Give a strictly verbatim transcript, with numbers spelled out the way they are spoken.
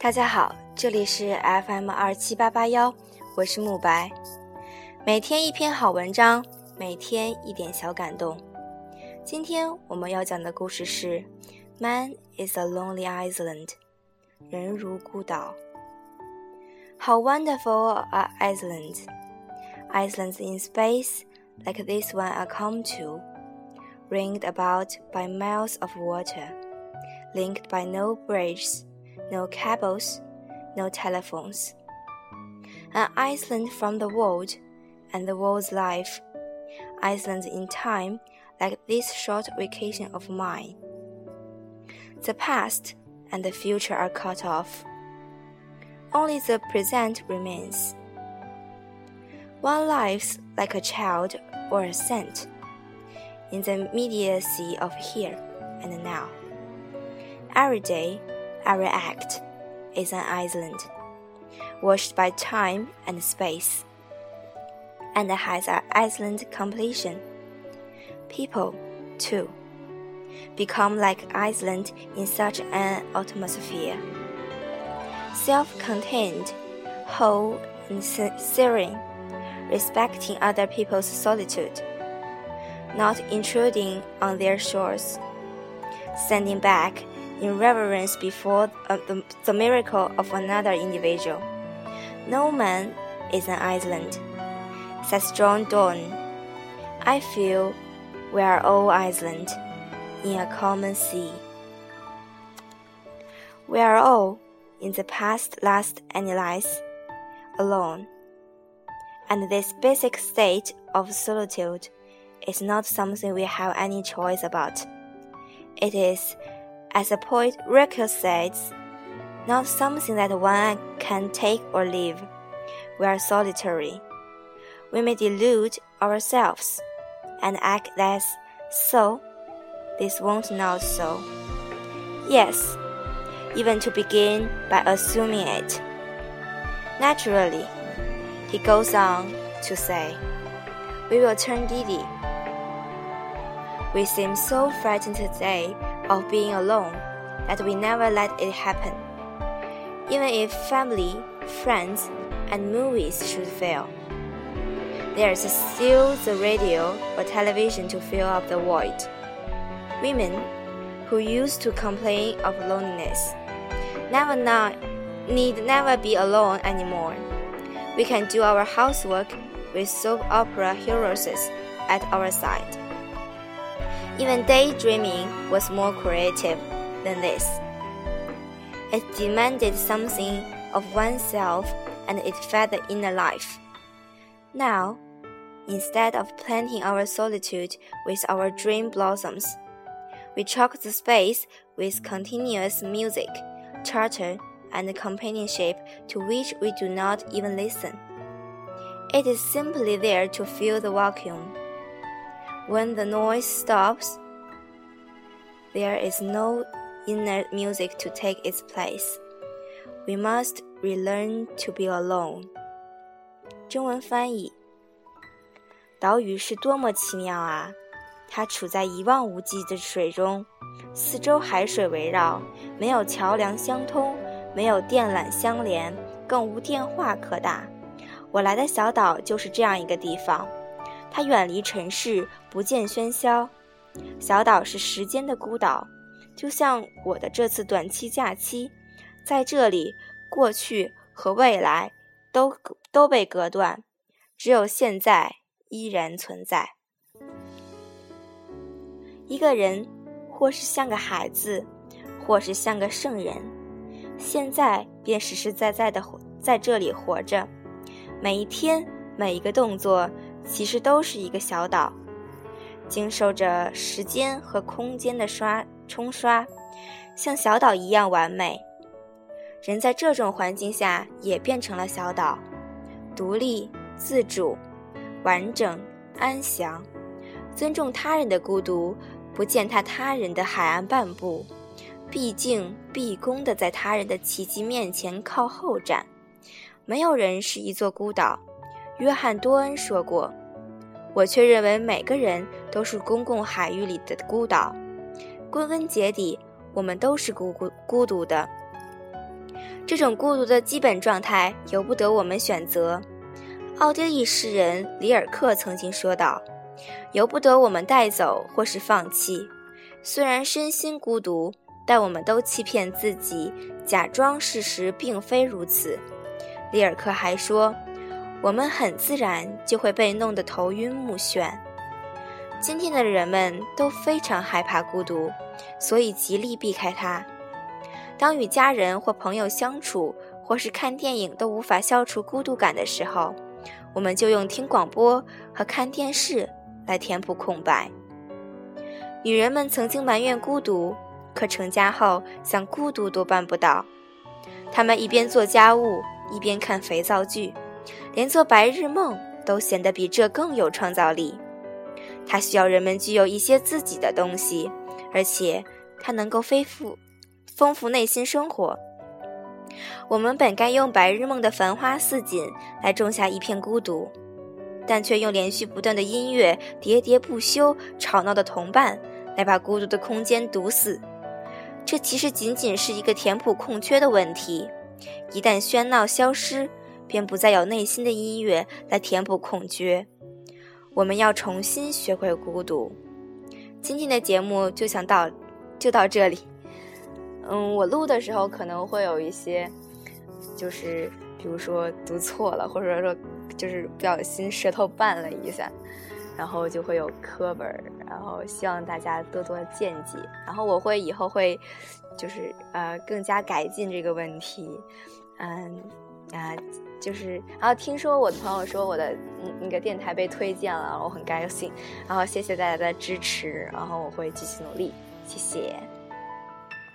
大家好，这里是 F M 二七八八一，我是慕白。每天一篇好文章，每天一点小感动。今天我们要讲的故事是 Man is a lonely island， 人如孤岛。How wonderful are islands! Islands in space, like this one I come to, ringed about by miles of water, linked by no bridges, no cables, no telephones. An island from the world and the world's life. Islands in time, like this short vacation of mine. The past and the future are cut off. Only the present remains. One lives like a child or a saint, in the immediacy of here and now. Every day, every act is an island, washed by time and space, and has an island completion. People, too, become like Iceland in such an atmosphere. Self-contained, whole and serene, respecting other people's solitude, not intruding on their shores, standing back in reverence before uh, the, the miracle of another individual. No man is an island, says John Donne. I feel we are all island in a common sea. We are all, in the past last analyze, alone. And this basic state of solitude is not something we have any choice about. It is, as the poet Rilke says, not something that one can take or leave. We are solitary. We may delude ourselves and act as so. This won't not so. Yes, even to begin by assuming it. Naturally, he goes on to say, we will turn giddy. We seem so frightened today of being alone that we never let it happen. Even if family, friends, and movies should fail, there is still the radio or television to fill up the void. Women, who used to complain of loneliness, never not, need never be alone anymore. We can do our housework with soap opera heroes at our side. Even daydreaming was more creative than this. It demanded something of oneself and it fed the inner life. Now, instead of planting our solitude with our dream blossoms, we chock the space with continuous music, chatter, and companionship to which we do not even listen. It is simply there to fill the vacuum. When the noise stops, there is no inner music to take its place. We must relearn to be alone. 中文翻译：岛屿是多么奇妙啊！它处在一望无际的水中，四周海水围绕，没有桥梁相通，没有电缆相连，更无电话可打。我来的小岛就是这样一个地方，它远离城市，不见喧嚣。小岛是时间的孤岛，就像我的这次短期假期，在这里，过去和未来都都被隔断，只有现在依然存在。一个人，或是像个孩子，或是像个圣人，现在便实实在在的在这里活着。每一天，每一个动作，其实都是一个小岛，经受着时间和空间的刷冲刷，像小岛一样完美。人在这种环境下也变成了小岛，独立、自主、完整、安详，尊重他人的孤独，不践踏他人的海岸半步，毕竟毕恭地在他人的奇迹面前靠后站。没有人是一座孤岛，约翰多恩说过，我却认为每个人都是公共海域里的孤岛。归根结底，我们都是孤孤孤独的。 这种孤独的基本状态由不得我们选择。奥地利诗人里尔克曾经说道，由不得我们带走或是放弃。虽然身心孤独，但我们都欺骗自己，假装事实并非如此。里尔克还说，我们很自然就会被弄得头晕目眩。今天的人们都非常害怕孤独，所以极力避开它。当与家人或朋友相处，或是看电影都无法消除孤独感的时候，我们就用听广播和看电视来填补空白。女人们曾经埋怨孤独，可成家后想孤独都办不到。她们一边做家务，一边看肥皂剧，连做白日梦都显得比这更有创造力。它需要人们具有一些自己的东西，而且它能够丰富丰富内心生活。我们本该用白日梦的繁花似锦来种下一片孤独，但却用连续不断的音乐喋喋不休吵闹的同伴来把孤独的空间堵死。这其实仅仅是一个填补空缺的问题，一旦喧闹消失，便不再有内心的音乐来填补空缺。我们要重新学会孤独。今天的节目就想到就到这里。嗯，我录的时候可能会有一些，就是比如说读错了，或者说就是不小心舌头绊了一下，然后就会有磕本，然后希望大家多多见解。然后我会以后会就是呃更加改进这个问题。嗯啊、呃，就是然后听说我的朋友说我的那个电台被推荐了，我很高兴。然后谢谢大家的支持，然后我会继续努力，谢谢。